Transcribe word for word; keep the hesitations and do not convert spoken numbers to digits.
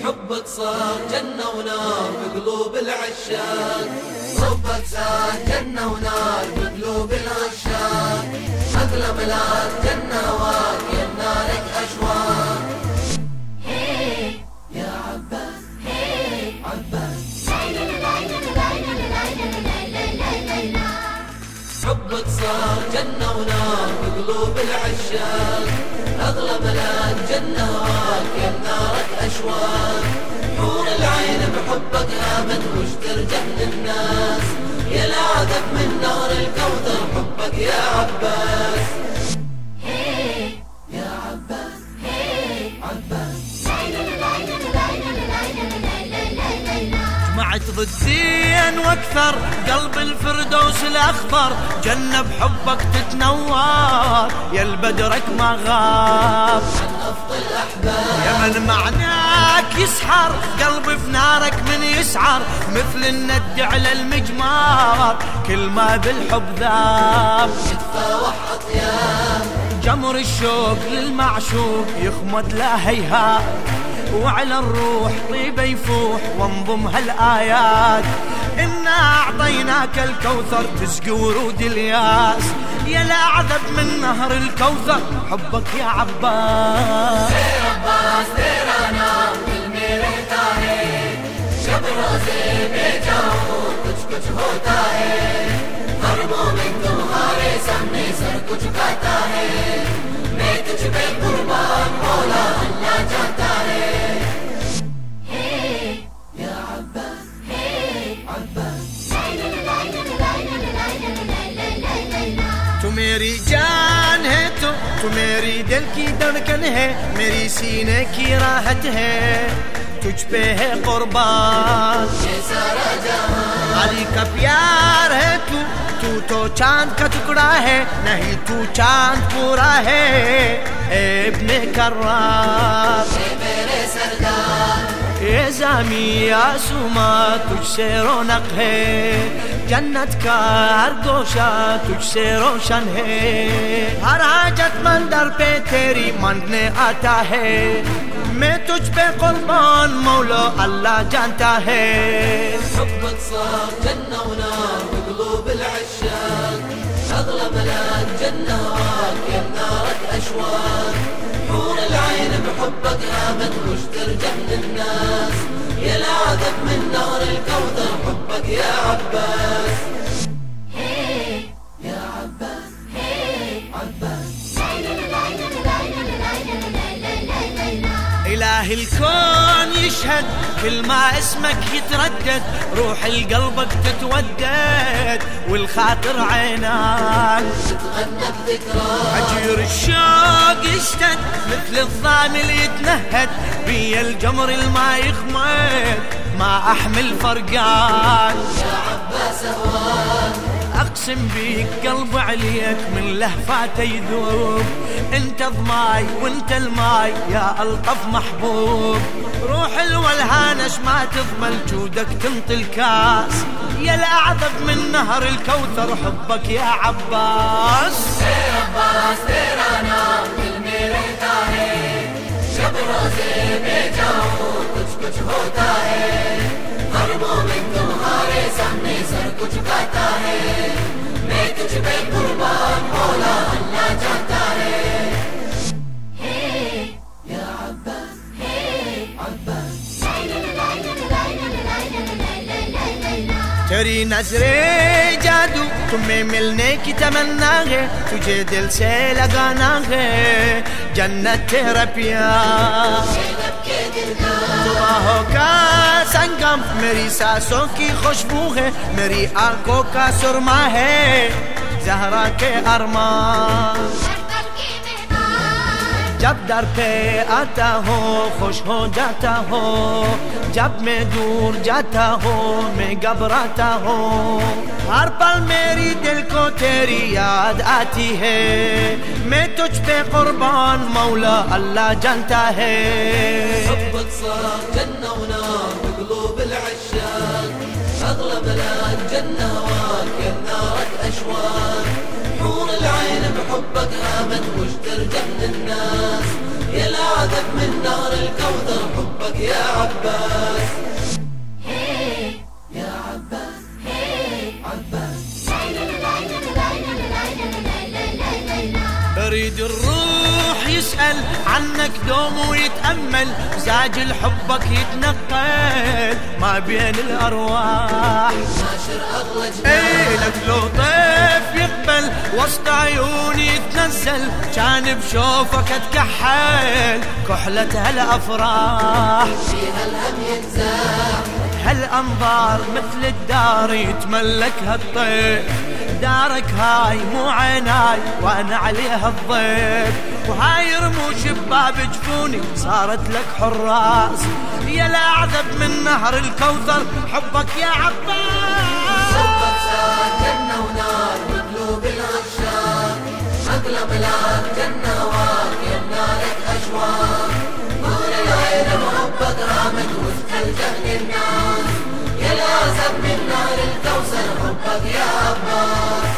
حبك صار جنة ونار بقلوب العشاق، حبك صار جنة ونار بقلوب العشاق، أغلى ملاك جنة هواك يا نارك أشواق. يا عباس عباس حبك صار جنة ونار بقلوب العشاق، أغلى ملاك جنة هواك يا نارك أشواق، حور العين بحبك آمن وش ترجع للناس، يا العذب من نار الكوثر حبك يا عباس. يا عباس عباس جمعت ضدين واكثر قلب الفردوس الاخضر، جنة بحبك تتنور يا البدرك ما غاب، افضل احباب يا من معناك يسحر قلبي في نارك من يسعر، مثل الند على المجمار كل ما بالحب ذاب، يتفاوح اطياب جمر الشوق للمعشوق يخمد لا هيهات، وعلى الروح طيبة يفوح وانضم هالآيات، إنا أعطيناك الكوثر تسقي ورود الياس، يا الأعذب من نهر الكوثر حبك يا عباس. يا عباس تیرا نام دل میں رہتا ہے، جب روزے میں جاؤں کچھ کچھ ہوتا ہے، ہر مومن تمہارے سامنے سر کچھ کھاتا ہے، میں تجھ پہ قربان مولا اللہ جاتا ہے. یا عباس عباس تو میری جان ہے، تو تو میری دل کی دھڑکن ہے، میری سینے کی راحت ہے، تجھ پہ ہے قربان یہ سارا جہاں، علی کا پیار ہے، تو تو تو چاند کا ٹکڑا ہے، نہیں تو چاند پورا ہے، اے ابن کرار اے میرے سردار، اے زامی آسوما تجھ سے رونق ہے، جنت کا ہر گوشہ تجھ سے روشن ہے، ہر حاجت مند در پہ تیری مانگنے آتا ہے، میں تجھ پہ قربان مولا اللہ جانتا ہے. حبك صار جنة ونار بقلوب العشاق، أغلى ملاك جنة هواك يا نارك أشواق، حور العين بحبك آمن وش ترجع للناس، يا العذب من نار الكوثر حبك يا عباس. يا عباس عباس إله الكون يشهد كل ما اسمك يتردد، روح القلبك تتودد والخاطر عيناك تتغنى بذكراك، عجير الشوق يشتد مثل الضامل يتنهد، بي الجمر الما يخمد ما أحمل فرقان، يا عباس هواك أقسم بيك قلب عليك من لهفاته يذوب، انت ضماي وانت الماي يا ألطف محبوب، روح الولهانش ما تضمن جودك تنطي الكاس، يا الأعذب من نهر الكوثر حبك يا عباس. اے عباس تیرا نام دل میں رہتا ہے، جب روزے میں جاؤں کچھ کچھ ہوتا ہے، ہر مومن تمہارے سامنے سر کچھ کھاتا ہے، میں تجھ پہ قربان مولا اللہ جاتا ہے. یا عباس عباس تیری نظر جادو تمہیں ملنے کی تمنا ہے، تجھے دل سے لگانا ہے، جنت تیرا پیار، تو باہوں کا سنگم میری سانسوں کی خوشبو ہے، میری آنکھوں کا سرما ہے، زہرا کے ارمان، جب در پہ آتا ہوں خوش ہو جاتا ہوں، جب میں دور جاتا ہوں میں گھبراتا ہوں، ہر پل میری دل کو تیری یاد آتی ہے، میں تجھ پہ قربان مولا اللہ جانتا ہے. حبك صار جنة ونار بقلوب العشاق، أغلى ملاك جنة هواك يا نارك أشواق، حور العين بحبك آمن وش ترجع للناس، يا العذب من نار الكوثر حبك يا عباس. يا عباس عباس. اريد الروح يسأل عنك دوم ويتأمل، مزاج الحبك يتنقل ما بين الأرواح. ناشر أغلى جنان ايه لك لو طيف يقبل وسط عيوني يتنزل، كان بشوفك اتكحل كحلة هالأفراح. فيها الهم ينزاح هالأنظار مثل الدار يتملكها الطيف، دارك هاي مو عيناي وانا عليها الضيف، وهاي رموش بباب جفوني صارت لك حراس. يا الأعذب من نهر الكوثر حبك يا عباس. حبك ساد جنة ونار بقلوب العشاق، أغلى ملاك جنة هواك يمنالك أشواق. نور العين بحبك رامد وسط الجهل الناس، يا العذب من نار الكوثر حبك يا عباس.